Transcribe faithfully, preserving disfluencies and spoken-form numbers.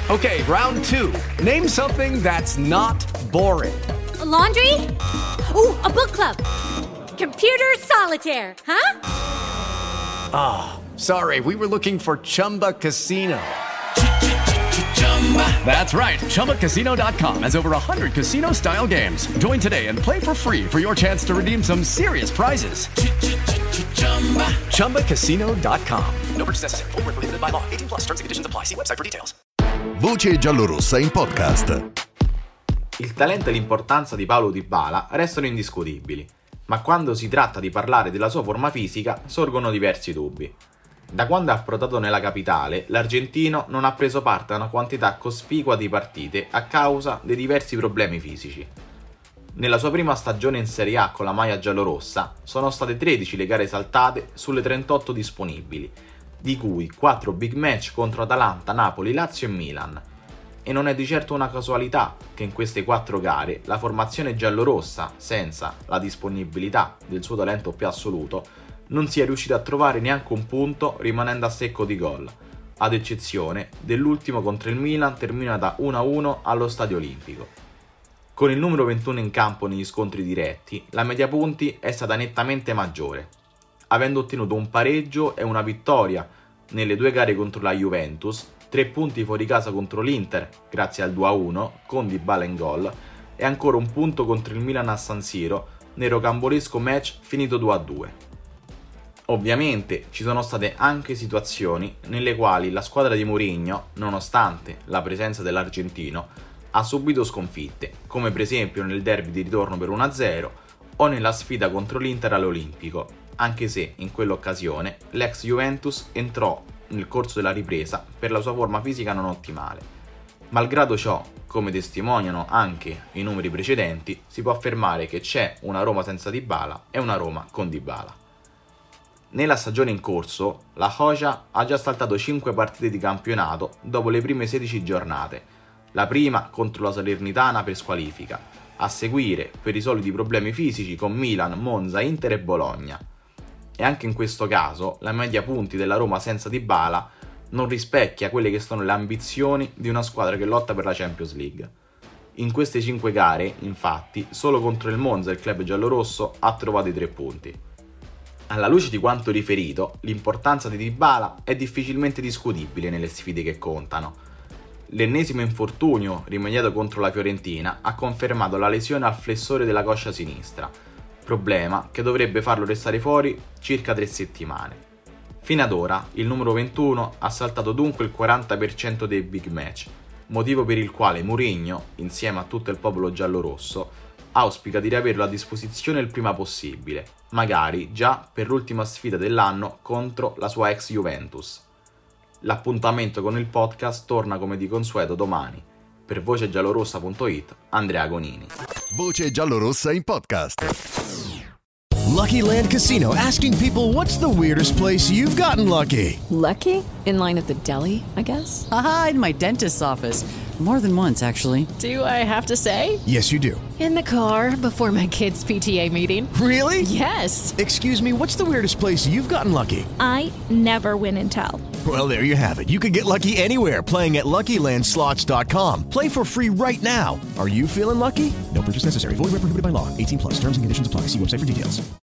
Okay, round two. Name something that's not boring. A laundry? Ooh, a book club. Computer solitaire, huh? Ah, oh, sorry, we were looking for Chumba Casino. That's right, Chumba Casino dot com has over one hundred casino-style games. Join today and play for free for your chance to redeem some serious prizes. Chumba Casino dot com. No purchase necessary. Void where prohibited by law. eighteen plus terms and conditions apply. See website for details. Voce giallorossa in podcast. Il talento e l'importanza di Paulo Dybala restano indiscutibili, ma quando si tratta di parlare della sua forma fisica sorgono diversi dubbi. Da quando è approdato nella capitale, l'argentino non ha preso parte a una quantità cospicua di partite a causa dei diversi problemi fisici. Nella sua prima stagione in Serie A con la maglia giallorossa sono state tredici le gare saltate sulle trentotto disponibili, di cui quattro big match contro Atalanta, Napoli, Lazio e Milan. E non è di certo una casualità che in queste quattro gare la formazione giallorossa, senza la disponibilità del suo talento più assoluto, non sia riuscita a trovare neanche un punto rimanendo a secco di gol, ad eccezione dell'ultimo contro il Milan terminata uno a uno allo Stadio Olimpico. Con il numero ventuno in campo negli scontri diretti, la media punti è stata nettamente maggiore, avendo ottenuto un pareggio e una vittoria nelle due gare contro la Juventus, tre punti fuori casa contro l'Inter grazie al due a uno con Dybala in gol e ancora un punto contro il Milan a San Siro nel rocambolesco match finito due a due. Ovviamente ci sono state anche situazioni nelle quali la squadra di Mourinho, nonostante la presenza dell'argentino, ha subito sconfitte, come per esempio nel derby di ritorno per uno a zero o nella sfida contro l'Inter all'Olimpico, anche se in quell'occasione l'ex Juventus entrò nel corso della ripresa per la sua forma fisica non ottimale. Malgrado ciò, come testimoniano anche i numeri precedenti, si può affermare che c'è una Roma senza Dybala e una Roma con Dybala. Nella stagione in corso, la Hoja ha già saltato cinque partite di campionato dopo le prime sedici giornate, la prima contro la Salernitana per squalifica, a seguire per i soliti problemi fisici con Milan, Monza, Inter e Bologna. E anche in questo caso la media punti della Roma senza Dybala non rispecchia quelle che sono le ambizioni di una squadra che lotta per la Champions League. In queste cinque gare, infatti, solo contro il Monza il club giallorosso ha trovato i tre punti. Alla luce di quanto riferito, l'importanza di Dybala è difficilmente discutibile nelle sfide che contano. L'ennesimo infortunio rimediato contro la Fiorentina ha confermato la lesione al flessore della coscia sinistra, problema che dovrebbe farlo restare fuori circa tre settimane. Fino ad ora il numero ventuno ha saltato dunque il quaranta per cento dei big match, motivo per il quale Mourinho, insieme a tutto il popolo giallorosso, auspica di riaverlo a disposizione il prima possibile, magari già per l'ultima sfida dell'anno contro la sua ex Juventus. L'appuntamento con il podcast torna come di consueto domani. Per voce giallorossa punto it, Andrea Gonini. Voce giallorossa in podcast. Lucky Land Casino, asking people, what's the weirdest place you've gotten lucky? Lucky? In line at the deli, I guess? Aha, in my dentist's office. More than once, actually. Do I have to say? Yes, you do. In the car before my kids' P T A meeting. Really? Yes. Excuse me, what's the weirdest place you've gotten lucky? I never win and tell. Well, there you have it. You can get lucky anywhere, playing at Lucky Land Slots dot com. Play for free right now. Are you feeling lucky? No purchase necessary. Void where prohibited by law. eighteen plus. Terms and conditions apply. See website for details.